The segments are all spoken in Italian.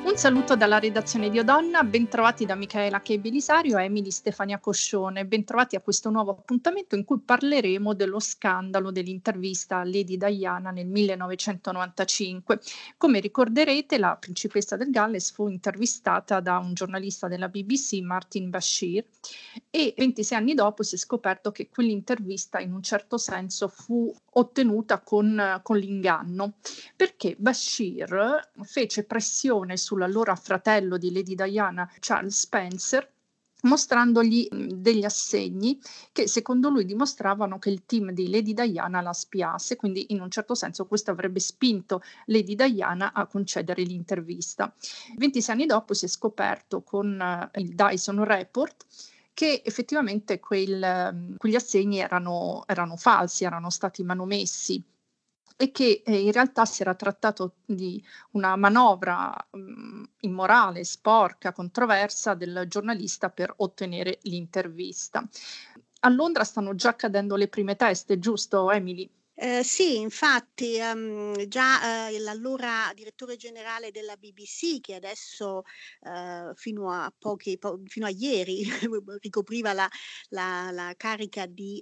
Un saluto dalla redazione di Odonna, bentrovati da Michaela Che Belisario e Emily Stefania Coscione, bentrovati a questo nuovo appuntamento in cui parleremo dello scandalo dell'intervista a Lady Diana nel 1995. Come ricorderete, la principessa del Galles fu intervistata da un giornalista della BBC, Martin Bashir, e 26 anni dopo si è scoperto che quell'intervista in un certo senso fu ottenuta con l'inganno, perché Bashir fece pressione sull'allora fratello di Lady Diana, Charles Spencer, mostrandogli degli assegni che secondo lui dimostravano che il team di Lady Diana la spiasse, quindi in un certo senso questo avrebbe spinto Lady Diana a concedere l'intervista. 26 anni dopo si è scoperto con il Dyson Report che effettivamente quegli assegni erano falsi, erano stati manomessi e che in realtà si era trattato di una manovra immorale, sporca, controversa del giornalista per ottenere l'intervista. A Londra stanno già cadendo le prime teste, giusto Emily? Sì, infatti, già, l'allora direttore generale della BBC, che adesso, fino a ieri ricopriva la carica di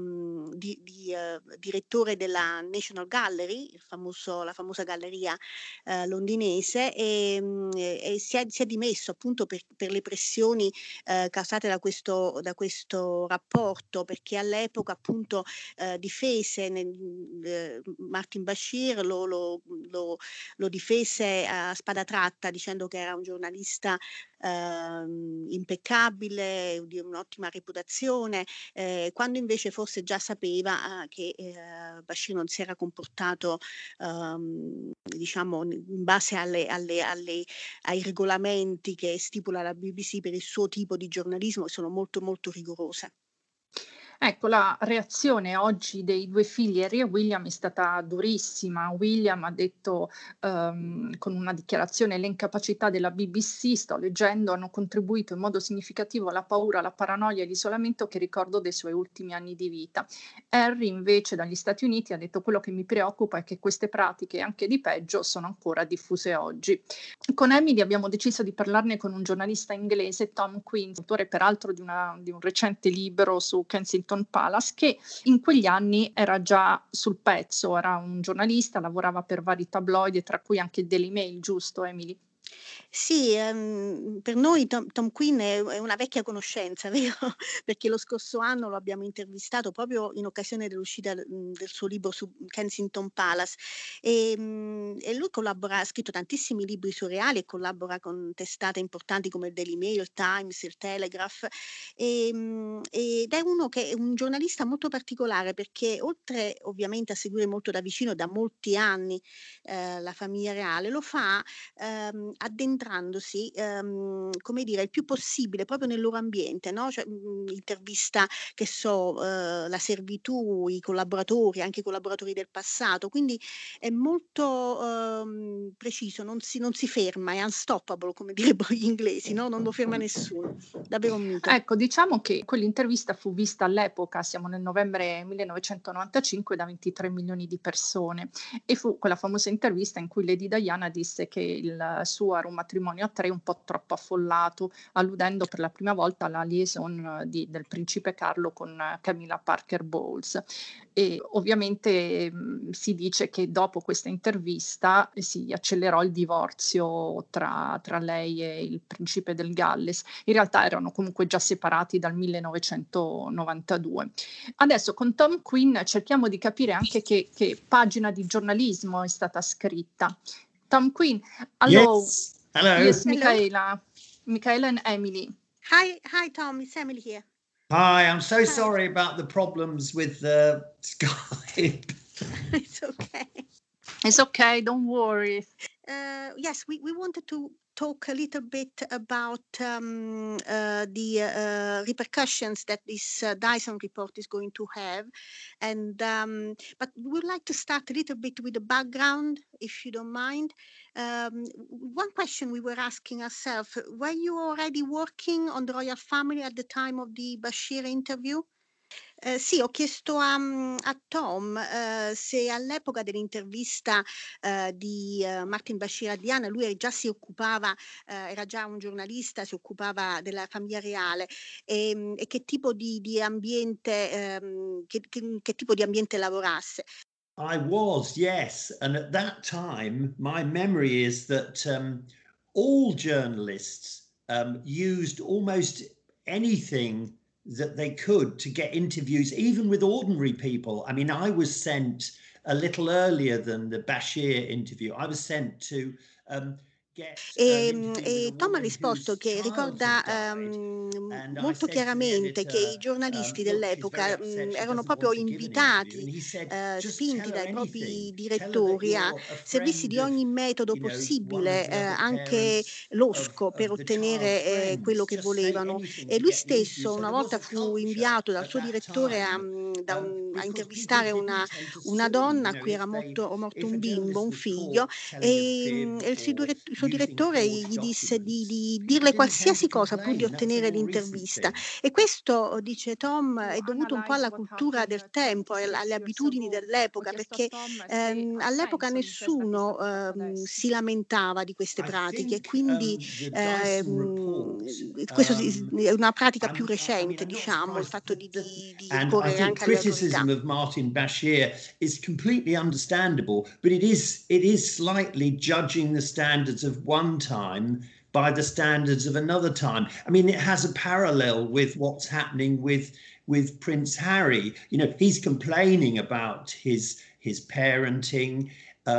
direttore della National Gallery, la famosa galleria, londinese, e si è dimesso appunto per le pressioni, causate da questo rapporto, perché all'epoca appunto difese Martin Bashir lo difese a spada tratta dicendo che era un giornalista impeccabile, di un'ottima reputazione, quando invece forse già sapeva che Bashir non si era comportato diciamo in base ai regolamenti che stipula la BBC per il suo tipo di giornalismo, che sono molto molto rigorose. Ecco, la reazione oggi dei 2 figli Harry e William è stata durissima. William ha detto, con una dichiarazione: "Le incapacità della BBC", sto leggendo, "hanno contribuito in modo significativo alla paura, alla paranoia e all'isolamento che ricordo dei suoi ultimi anni di vita". Harry invece dagli Stati Uniti ha detto: "Quello che mi preoccupa è che queste pratiche, anche di peggio, sono ancora diffuse oggi". Con Emily abbiamo deciso di parlarne con un giornalista inglese, Tom Quinn, autore peraltro di un recente libro su Kensington Palace, che in quegli anni era già sul pezzo, era un giornalista, lavorava per vari tabloidi, tra cui anche il Daily Mail, giusto Emily? Sì, per noi Tom Quinn è una vecchia conoscenza, vero, perché lo scorso anno lo abbiamo intervistato proprio in occasione dell'uscita, del suo libro su Kensington Palace, e lui ha scritto tantissimi libri surreali e collabora con testate importanti come il Daily Mail, il Times, il Telegraph, ed è un giornalista molto particolare perché oltre ovviamente a seguire molto da vicino da molti anni, la famiglia reale, lo fa addentrandosi, come dire, il più possibile proprio nel loro ambiente, no, cioè, intervista, che so, la servitù, i collaboratori, anche i collaboratori del passato, quindi è molto, preciso, non si ferma, è unstoppable come direbbero gli inglesi, no, non lo ferma nessuno. Davvero un mito. Ecco, diciamo che quell'intervista fu vista all'epoca, siamo nel novembre 1995, da 23 milioni di persone e fu quella famosa intervista in cui Lady Diana disse che il suo era un matrimonio a 3 un po' troppo affollato, alludendo per la prima volta alla liaison del principe Carlo con Camilla Parker Bowles. E ovviamente si dice che dopo questa intervista si accelerò il divorzio tra lei e il principe del Galles. In realtà erano comunque già separati dal 1992. Adesso con Tom Quinn cerchiamo di capire anche che pagina di giornalismo è stata scritta. Tom Quinn, hello. Yes. Hello. Yes, Hello. Michaela and Emily. Hi Tom, it's Emily here. Hi, I'm so Hi. sorry about the problems with Skype. It's okay. It's okay, don't worry. Yes, we wanted to talk a little bit about the repercussions that this Dyson report is going to have, and but we would like to start a little bit with the background, if you don't mind. One question we were asking ourselves: were you already working on the royal family at the time of the Bashir interview? Sì, ho chiesto a Tom, se all'epoca dell'intervista, di, Martin Bashir a Diana, lui già si occupava, era già un giornalista, si occupava della famiglia reale, e che tipo di ambiente, che tipo di ambiente lavorasse. I was, yes. And at that time, my memory is that all journalists used almost anything that they could to get interviews, even with ordinary people. I mean, I was sent a little earlier than the Bashir interview. I was sent to get an interview with a Tom ha woman risposto whose che child had ricorda, died. And I molto said to the chiaramente che i editor, giornalisti look, she's very dell'epoca, upset. She erano doesn't proprio want to give an interview. invitati, And he said, just spinti tell her dai propri anything. Tell her that direttori a you're a servirsi friend di of, ogni metodo you know, one of possibile, the other anche parents losco, per of the child's ottenere, quello friends. che Just say volevano. anything E to lui get the interview. stesso So una there was volta a fu culture inviato dal at suo that direttore a time a because people intervistare didn't tend to una sue, donna you a know, cui era morto if a un bimbo, journalist un was figlio, caught telling a fib e or il suo using direttore forged gli disse documents, di people dirle didn't tend to qualsiasi cosa pur di complain. That's a ottenere more recent l'intervista. thing. E questo, dice Tom, To è dovuto un po' analyze alla what cultura happened del tempo e alle 26 years abitudini ago, ho dell'epoca, chiesto a perché Tom se ha all'epoca senso l'intervista nessuno, che ha fatto adesso. si lamentava di queste I pratiche, e think quindi the Dyson report. questo è una pratica più I mean, recente, I'm not diciamo, il surprised. fatto di And I ricorrere think anche alle autorità. criticism of Martin Bashir is completely understandable, but it is slightly judging the standards of one time by the standards of another time. I mean, it has a parallel with what's happening with Prince Harry. You know, he's complaining about his parenting.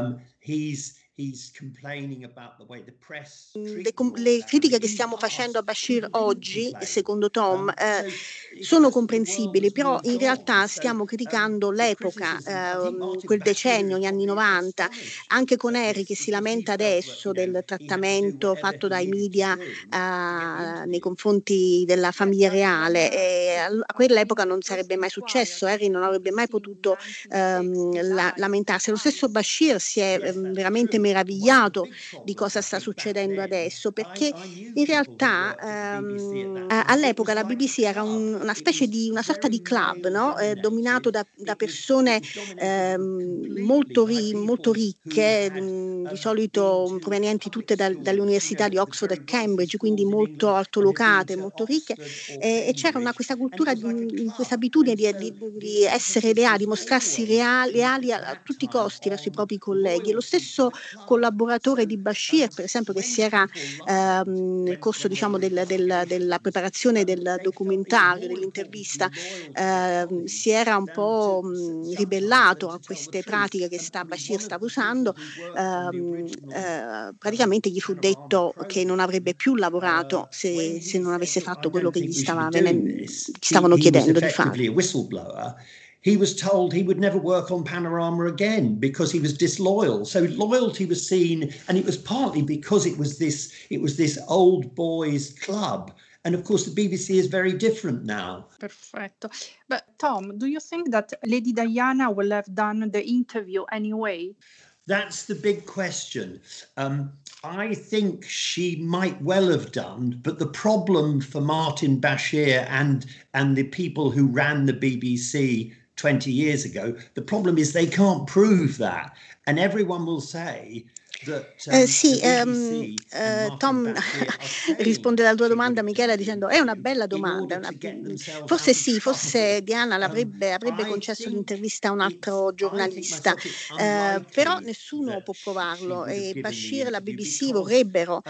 He's complaining about the way the press treat the royal Le critiche family. che In stiamo past, facendo a Bashir people didn't oggi, complain. secondo Tom, So sono it's just the world comprensibili, has però moved in on. realtà So stiamo criticando the l'epoca, criticism, I think Martin quel Bashir decennio, is gli anni probably '90, astonished anche con at Harry this che si because he lamenta felt that, adesso del he had to do trattamento whatever fatto he dai needed to media, do to get the nei interview. confronti della famiglia reale, e a quell'epoca non sarebbe mai successo, Harry non avrebbe mai potuto, lamentarsi. Lo stesso Bashir si è, Yes, that's veramente true. One of the meravigliato big di problems, cosa I sta think, back succedendo then, adesso, perché I knew in people who realtà, worked at the BBC at that time. It all'epoca was la like a BBC era club. una It specie was di una sorta very di club, male no, dominato dominated. da It persone, was dominated completely molto by molto people who ricche, had di been solito to provenienti public tutte dalle schools, you know, università di the Oxford very e wealthy Cambridge, quindi schools in molto England, and had been altolocate, to molto ricche, Oxford or e c'era Cambridge, questa and it cultura, was like a questa club. abitudine And so di the essere emphasis leali, was mostrarsi always leali at a that tutti i time costi verso i on propri colleghi. E lo loyalty to stesso the club. collaboratore di So Bashir, per esempio, che when si era, people lied, nel corso, when they diciamo, were della investigations, preparazione del they felt it was documentario, more important to dell'intervista, be loyal to their si colleagues era un than to po', sometimes than ribellato to a tell the queste truth. pratiche che I mean, Bashir one of stava the people usando. who worked on the original Praticamente gli fu Panorama detto che non avrebbe program, più lavorato when se he non said, avesse "Look, I fatto quello don't che think we should be doing this," gli stavano he was chiedendo di fare. effectively a whistleblower. He was told he would never work on Panorama again because he was disloyal. So loyalty was seen, and it was partly because it was this old boys club. And of course, the BBC is very different now. Perfetto. But Tom, do you think that Lady Diana will have done the interview anyway? That's the big question. I think she might well have done, but the problem for Martin Bashir and the people who ran the BBC 20 years ago, the problem is they can't prove that. And everyone will say that Sì, the BBC and Martin Tom Bashir are saying risponde alla tua she would domanda, have Michela, done the dicendo: "È una interview bella in domanda, order to get themselves forse out of sì, forse trouble. Diana avrebbe I concesso think l'intervista a un altro I think giornalista, myself it's però unlikely nessuno può that she provarlo, would have e given the Bashir e la interview BBC because vorrebbero,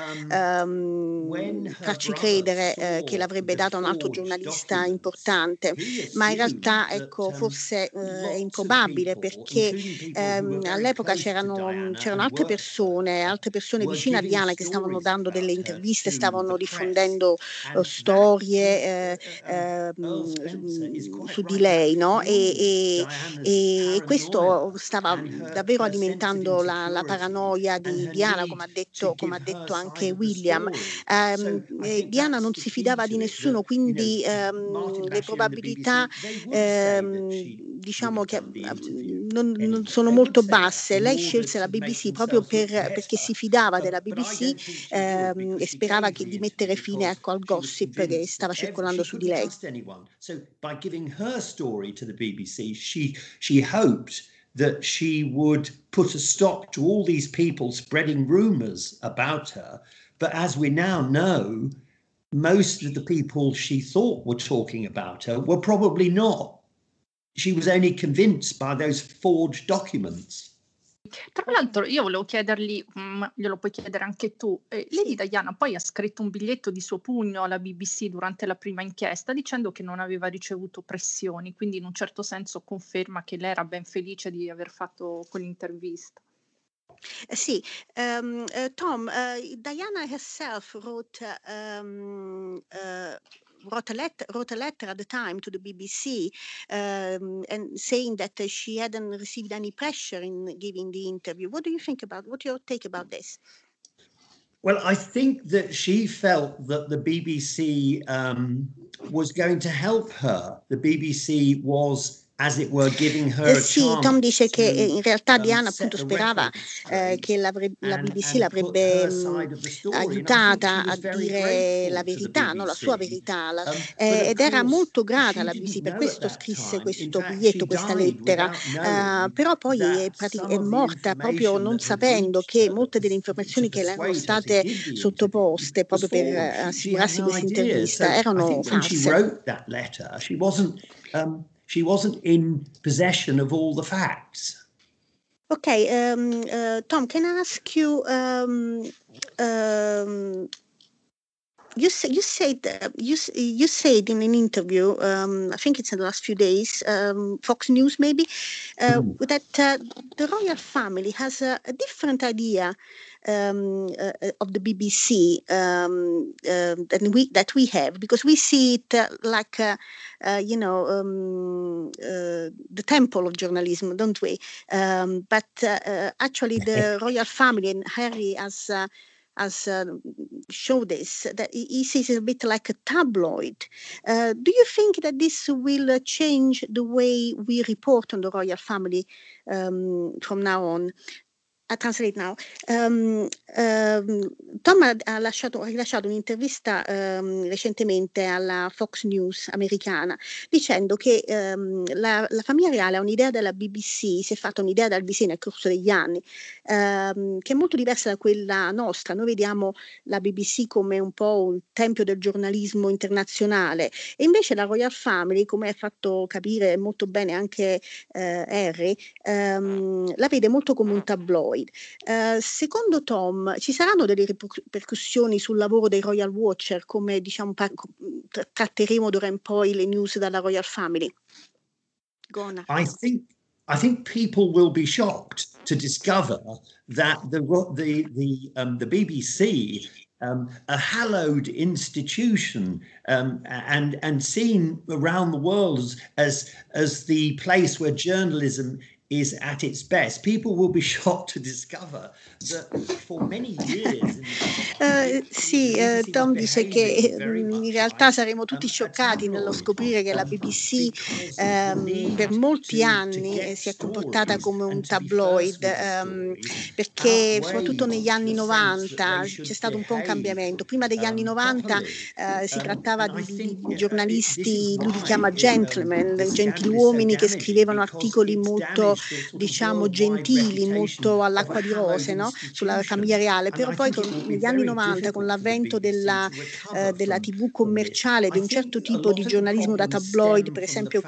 when her farci brother credere, che saw l'avrebbe the data a un altro forged giornalista documents, importante, he ma in assumed realtà, that ecco, forse, è lots of improbabile, people, perché, including people who were very all'epoca close to Diana c'erano and worked for her, altre persone were vicine a giving Diana che stavano stories dando delle about her interviste, to the stavano press. diffondendo, And that is storie, Earl Spencer is quite su di right. That lei, no? fueled Diana's E questo paranoia stava and davvero her sense of alimentando la insecurity paranoia and di her Diana, need to come ha give her detto side anche of the William. story. So I think Diana that's non the si key fidava di to it, that, nessuno, quindi, Martin le Bashir and the probabilità, BBC, they would say that she would diciamo have che, done the interview non anyway. sono They would molto say that basse. in Lei order scelse la to make BBC proprio themselves look perché si fidava della BBC e sperava di mettere fine, ecco, al gossip che stava circolando su di lei. So by giving her story to the BBC, she hoped that she would put a stop to all these people spreading rumors about her. But as we now know, most of the people she thought were talking about her were probably not. She was only convinced by those forged documents. Tra l'altro io volevo chiedergli, glielo puoi chiedere anche tu, Lady Diana poi ha scritto un biglietto di suo pugno alla BBC durante la prima inchiesta dicendo che non aveva ricevuto pressioni, quindi in un certo senso conferma che lei era ben felice di aver fatto quell'intervista. Sì, Tom, Diana herself wrote a letter at the time to the BBC and saying that she hadn't received any pressure in giving the interview. What do you think about? What's your take about this? Well, I think that she felt that the BBC was going to help her. The BBC was, as it were, giving her a Sì, chance Tom dice che to, in realtà Diana set appunto the sperava record straight che la BBC and put l'avrebbe her side of the story. And I think aiutata she a was very dire la grateful to the verità, no? La sua BBC. verità, But of ed era course, molto grata she alla didn't BBC, per know at questo that scrisse time. In questo fact, biglietto, she questa died lettera, without knowing però poi è, that some è of the morta proprio information non that had sapendo reached che her, molte delle to informazioni che le erano persuade her to state give the interview, sottoposte was proprio per false. She had assicurarsi no questa idea. intervista So I erano think when she false. wrote that letter, she wasn't in possession of all the facts. Okay, Tom, can I ask you, you said in an interview, I think it's in the last few days, Fox News maybe, that the royal family has a different idea of the BBC that we have, because we see it like the temple of journalism, don't we? But actually, the royal family and Harry has show this, that he sees it a bit like a tabloid. Do you think that this will change the way we report on the royal family from now on? A translate now. Tom ha rilasciato un'intervista recentemente alla Fox News americana dicendo che la famiglia reale ha un'idea della BBC, si è fatta un'idea della BBC nel corso degli anni che è molto diversa da quella nostra. Noi vediamo la BBC come un po' un tempio del giornalismo internazionale e invece la Royal Family, come ha fatto capire molto bene anche Harry, la vede molto come un tabloid. Secondo Tom ci saranno delle ripercussioni sul lavoro dei Royal Watcher, come diciamo tratteremo d'ora in poi le news dalla Royal Family? Gona. I think people will be shocked to discover that the BBC, a hallowed institution, and seen around the world as the place where journalism is at its best. People will be shocked to discover that for many years. Sì, Tom dice che in realtà saremo tutti scioccati nello scoprire che la BBC per molti anni si è comportata come un tabloid, perché soprattutto negli anni 90 c'è stato un po' un cambiamento. Prima degli anni 90 si trattava di giornalisti, lui li chiama gentlemen, gentiluomini che scrivevano articoli molto, diciamo, gentili, molto all'acqua di rose, no? Sulla famiglia reale, però poi negli anni 90 con l'avvento della TV commerciale, di un certo tipo di giornalismo da tabloid, per esempio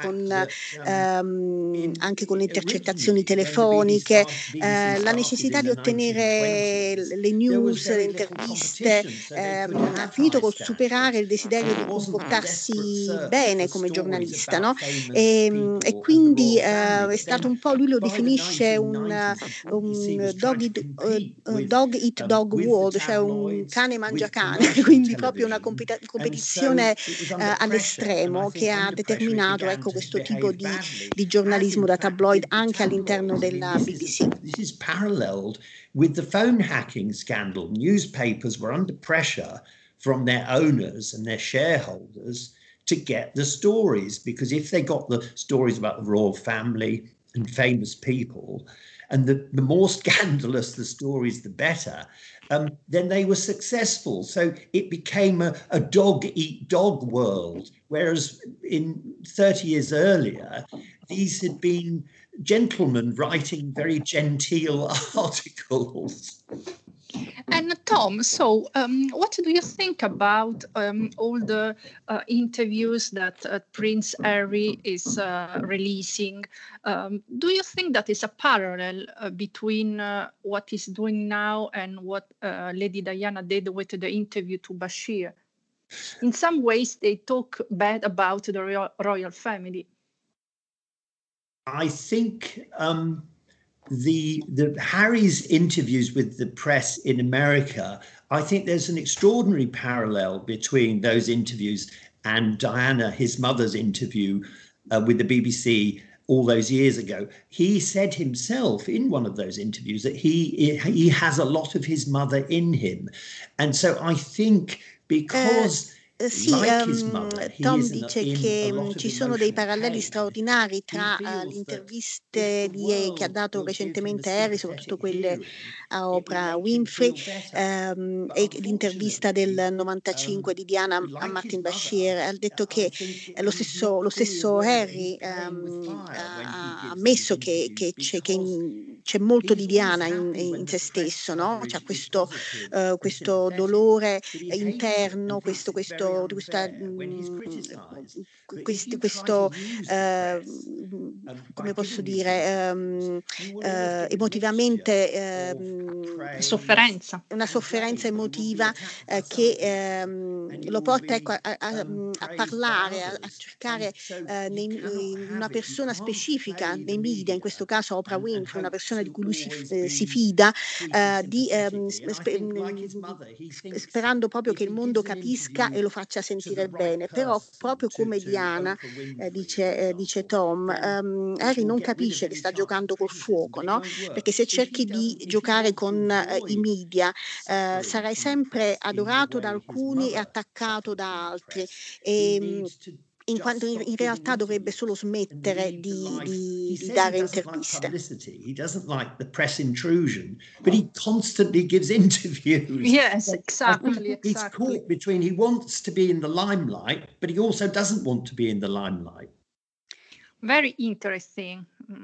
anche con le intercettazioni telefoniche, la necessità di ottenere le news, le interviste, ha finito col superare il desiderio di comportarsi bene come giornalista, no? E quindi è stato un po', lui lo definisce un dog eat dog world, cioè un cane mangia cane, quindi proprio una competizione all'estremo che ha determinato, ecco, questo tipo di giornalismo da tabloid anche all'interno della BBC. This is paralleled with the phone hacking scandal. Newspapers were under pressure from their owners and their shareholders to get the stories, because if they got the stories about the royal family and famous people, and the more scandalous the stories, the better, then they were successful. So it became a dog-eat-dog world, whereas in 30 years earlier, these had been gentlemen writing very genteel articles. And Tom, so what do you think about all the interviews that Prince Harry is releasing? Do you think that is a parallel between what he's doing now and what Lady Diana did with the interview to Bashir? In some ways, they talk bad about the royal family. I think the Harry's interviews with the press in America, I think there's an extraordinary parallel between those interviews and Diana, his mother's interview with the BBC all those years ago. He said himself in one of those interviews that he has a lot of his mother in him. And so I think because Sì, Tom dice che ci sono dei paralleli straordinari tra le interviste che ha dato recentemente Harry, soprattutto quelle a Oprah Winfrey, e l'intervista del 95 di Diana a Martin Bashir. Ha detto che lo stesso Harry ha ammesso che c'è molto di Diana in se stesso, no? C'è questo dolore interno, questo come posso dire, emotivamente sofferenza. Una sofferenza emotiva che lo porta, ecco, a parlare, a cercare in una persona specifica nei media, in questo caso Oprah Winfrey, una persona di cui lui si fida, sperando proprio che il mondo capisca e lo faccia sentire bene. Però proprio come Diana, dice Tom, Harry non capisce che sta giocando col fuoco, no? Perché se cerchi di giocare con i media sarai sempre adorato da alcuni e attaccato da altri. In quanto in realtà dovrebbe solo smettere di dare interviste. He doesn't like the press intrusion, but he constantly gives interviews. Yes, exactly. He's caught between he wants to be in the limelight, but he also doesn't want to be in the limelight. Very interesting.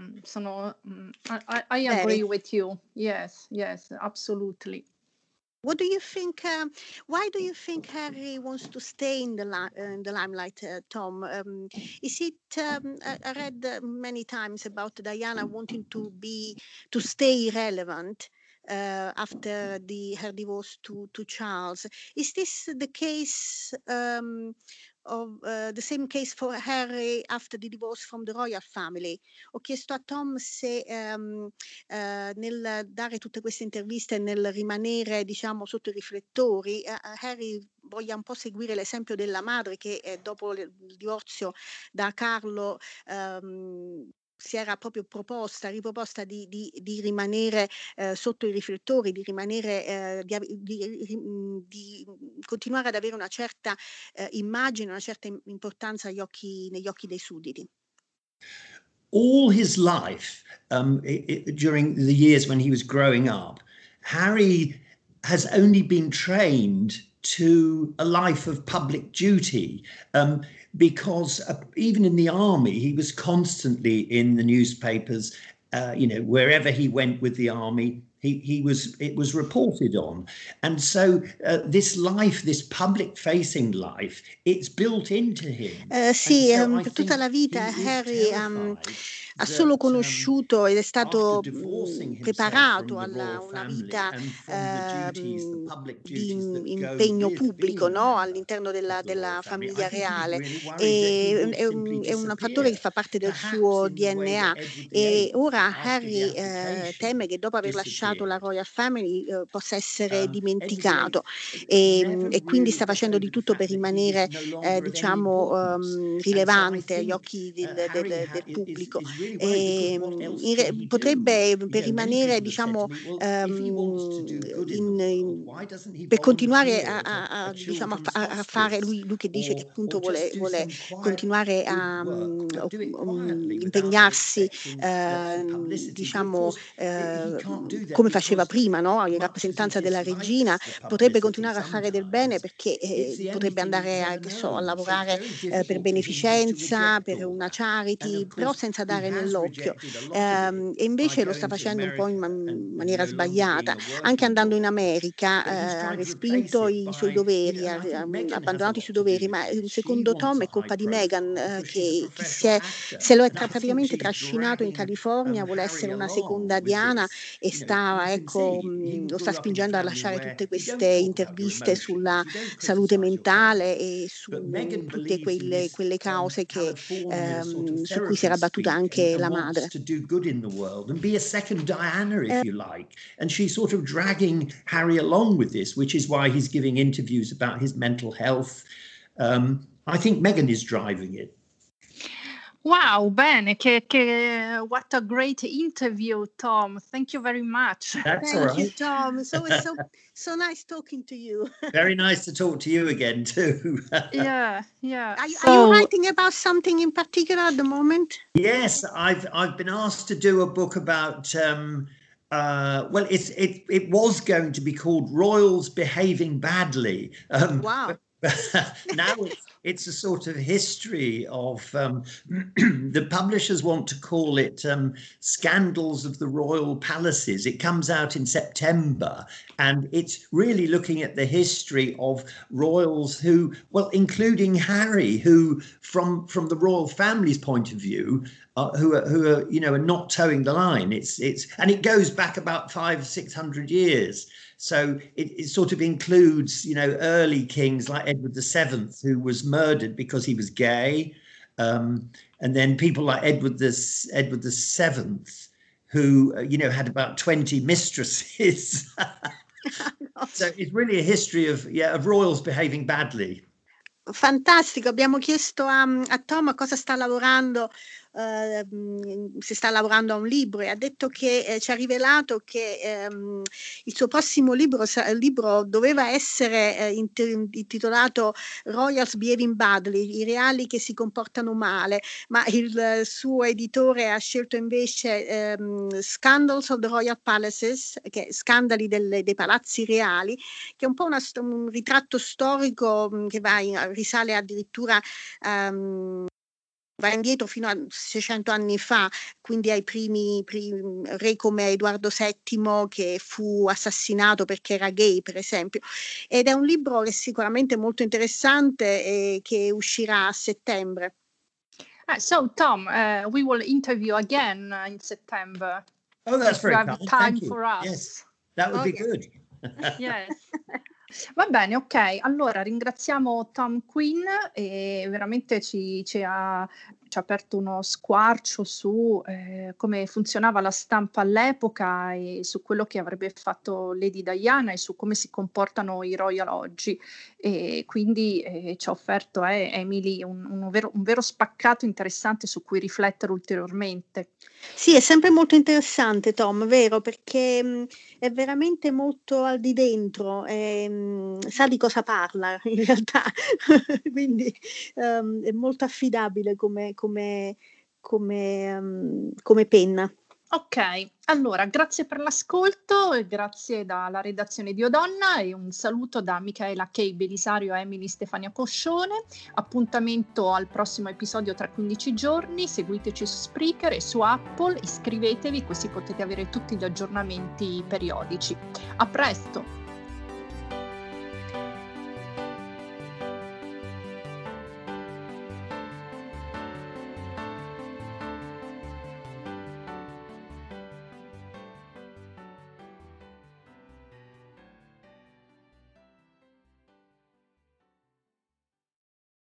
I agree with you. Yes, absolutely. What do you think? Why do you think Harry wants to stay in the limelight, Tom? Is it? I read many times about Diana wanting to stay relevant after her divorce to Charles. Is this the case? Of the same case for Harry after the divorce from the royal family. Ho chiesto a Tom se nel dare tutte queste interviste e nel rimanere, diciamo, sotto i riflettori, Harry voglia un po' seguire l'esempio della madre che dopo il divorzio da Carlo si era proprio riproposta di rimanere sotto i riflettori, di rimanere, di continuare ad avere una certa immagine, una certa importanza negli occhi dei sudditi. All his life, during the years when he was growing up, Harry has only been trained to a life of public duty. Because even in the army, he was constantly in the newspapers. Wherever he went with the army, it was reported on. And so this life, this public-facing life, it's built into him. Sì, per tutta la vita Harry ha solo conosciuto ed è stato preparato a una vita di impegno pubblico, no? All'interno della famiglia reale. È un fattore che fa parte del suo DNA. E ora Harry teme che dopo aver lasciato la Royal Family possa essere dimenticato e quindi sta facendo di tutto per rimanere rilevante agli occhi del pubblico. potrebbe, per rimanere, diciamo, per continuare a fare, lui che dice che appunto vuole continuare a impegnarsi, diciamo, come faceva prima, no? In rappresentanza della regina, potrebbe continuare a fare del bene, perché potrebbe andare a lavorare per beneficenza, per una charity, però senza dare nell'occhio, e invece lo sta facendo un po' in maniera sbagliata, anche andando in America. Ha respinto i suoi doveri, ha abbandonato i suoi doveri, ma secondo Tom è colpa di Meghan, che se lo è praticamente trascinato in California, vuole essere una seconda Diana, e lo sta spingendo a lasciare tutte queste interviste sulla salute mentale e su tutte quelle cause su cui si era battuta anche la madre. And be a second Diana, if you like. And she's sort of dragging Harry along with this, which is why he's giving interviews about his mental health. I think Meghan is driving it. Wow, bene, what a great interview, Tom. Thank you very much. That's Thank all right. you, Tom. It's always so nice talking to you. Very nice to talk to you again too. Yeah. Are you writing about something in particular at the moment? Yes, I've been asked to do a book about well, it was going to be called Royals Behaving Badly. Wow. Now it's a sort of history of the publishers want to call it Scandals of the Royal Palaces. It comes out in September, and it's really looking at the history of royals who, well, including Harry, who from the royal family's point of view, who are are not towing the line. And it goes back about 500-600 years. So it sort of includes, early kings like Edward VII, who was murdered because he was gay. And then people like Edward VII, who, had about 20 mistresses. So it's really a history of royals behaving badly. Fantastico, abbiamo chiesto a Tom cosa sta lavorando, se sta lavorando a un libro, e ha detto che ci ha rivelato che il suo prossimo libro doveva essere intitolato Royals Behaving Badly, i reali che si comportano male, ma il suo editore ha scelto invece Scandals of the Royal Palaces, che scandali dei palazzi reali, che è un po' un ritratto storico che risale addirittura va indietro fino a 600 anni fa, quindi ai primi re come Edoardo VII, che fu assassinato perché era gay, per esempio. Ed è un libro che è sicuramente molto interessante e che uscirà a settembre. So Tom, we will interview again in September. Oh, that's very kind. Time for us. Yes, that would be good. Yes. Va bene, ok. Allora ringraziamo Tom Quinn, e veramente ci ha aperto uno squarcio su come funzionava la stampa all'epoca e su quello che avrebbe fatto Lady Diana e su come si comportano i royal oggi, e quindi ci ha offerto Emily un vero spaccato interessante su cui riflettere ulteriormente. Sì, è sempre molto interessante Tom, vero, perché è veramente molto al di dentro, sa di cosa parla in realtà, quindi è molto affidabile come penna. Ok, allora grazie per l'ascolto e grazie dalla redazione di Odonna, e un saluto da Michaela K. Belisario e Emily Stefania Coscione. Appuntamento al prossimo episodio tra 15 giorni, seguiteci su Spreaker e su Apple, iscrivetevi così potete avere tutti gli aggiornamenti periodici. A presto!